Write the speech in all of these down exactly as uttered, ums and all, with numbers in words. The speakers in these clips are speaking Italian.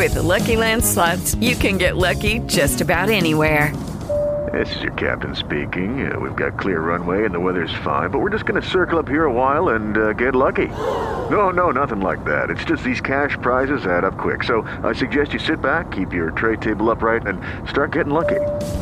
With the Lucky Land Slots, you can get lucky just about anywhere. This is your captain speaking. Uh, we've got clear runway and the weather's fine, but we're just going to circle up here a while and uh, get lucky. No, no, nothing like that. It's just these cash prizes add up quick. So I suggest you sit back, keep your tray table upright, and start getting lucky.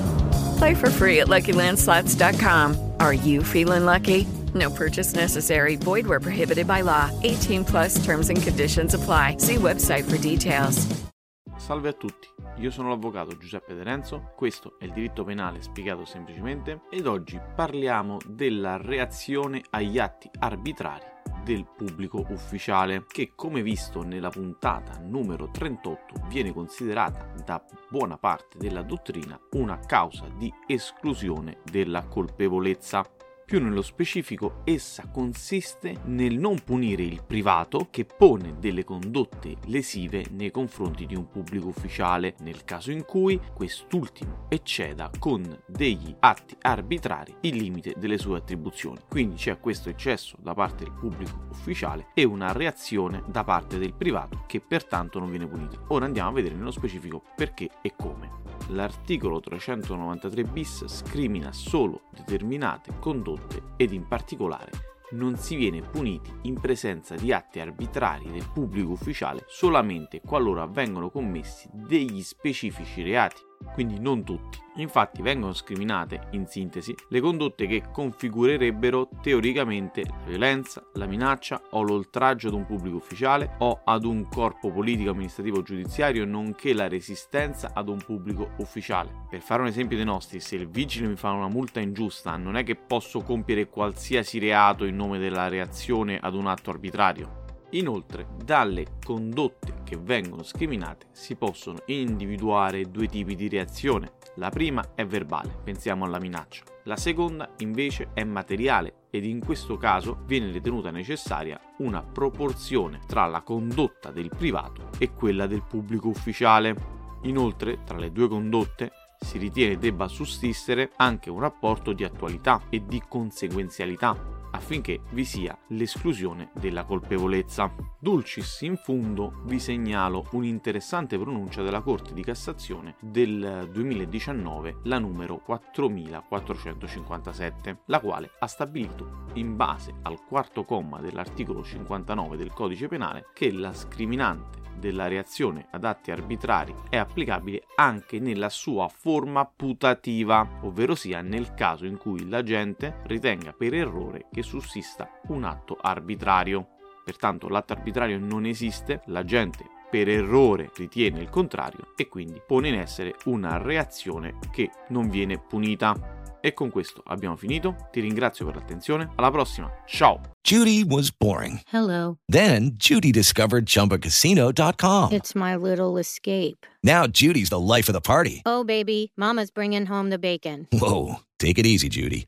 Play for free at Lucky Land Slots dot com. Are you feeling lucky? No purchase necessary. Void where prohibited by law. eighteen plus terms and conditions apply. See website for details. Salve a tutti, io sono l'avvocato Giuseppe De Renzo, questo è il diritto penale spiegato semplicemente ed oggi parliamo della reazione agli atti arbitrari del pubblico ufficiale che, come visto nella puntata numero trentotto, viene considerata da buona parte della dottrina una causa di esclusione della colpevolezza. Più nello specifico, essa consiste nel non punire il privato che pone delle condotte lesive nei confronti di un pubblico ufficiale, nel caso in cui quest'ultimo ecceda con degli atti arbitrari il limite delle sue attribuzioni. Quindi c'è questo eccesso da parte del pubblico ufficiale e una reazione da parte del privato che pertanto non viene punita. Ora andiamo a vedere nello specifico perché e come. L'articolo trecentonovantatré bis scrimina solo determinate condotte ed in particolare non si viene puniti in presenza di atti arbitrari del pubblico ufficiale solamente qualora vengono commessi degli specifici reati, quindi non tutti. Infatti vengono scriminate, in sintesi, le condotte che configurerebbero teoricamente la violenza, la minaccia o l'oltraggio ad un pubblico ufficiale o ad un corpo politico, amministrativo o giudiziario, nonché la resistenza ad un pubblico ufficiale. Per fare un esempio dei nostri, se il vigile mi fa una multa ingiusta, non è che posso compiere qualsiasi reato in nome della reazione ad un atto arbitrario. Inoltre, dalle condotte che vengono scriminate si possono individuare due tipi di reazione. La prima è verbale, pensiamo alla minaccia. La seconda invece è materiale ed in questo caso viene ritenuta necessaria una proporzione tra la condotta del privato e quella del pubblico ufficiale. Inoltre, tra le due condotte si ritiene debba sussistere anche un rapporto di attualità e di conseguenzialità, affinché vi sia l'esclusione della colpevolezza. Dulcis in fundo vi segnalo un'interessante pronuncia della Corte di Cassazione del duemiladiciannove, la numero quattromilaquattrocentocinquantasette, la quale ha stabilito, in base al quarto comma dell'articolo cinquantanove del Codice Penale, che la scriminante della reazione ad atti arbitrari è applicabile anche nella sua forma putativa, ovvero sia nel caso in cui l'agente ritenga per errore che sussista un atto arbitrario. Pertanto l'atto arbitrario non esiste, l'agente per errore ritiene il contrario e quindi pone in essere una reazione che non viene punita. E con questo abbiamo finito, ti ringrazio per l'attenzione, alla prossima, ciao! Judy was boring. Hello. Then Judy discovered Chumba Casino dot com. It's my little escape. Now Judy's the life of the party. Oh, baby, mama's bringing home the bacon. Whoa, take it easy, Judy.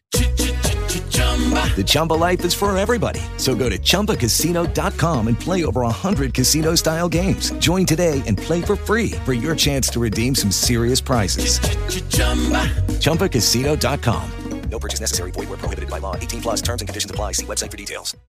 The Chumba life is for everybody. So go to Chumba Casino dot com and play over one hundred casino-style games. Join today and play for free for your chance to redeem some serious prizes. Chumba Casino dot com. No purchase necessary. Void where prohibited by law. eighteen plus terms and conditions apply. See website for details.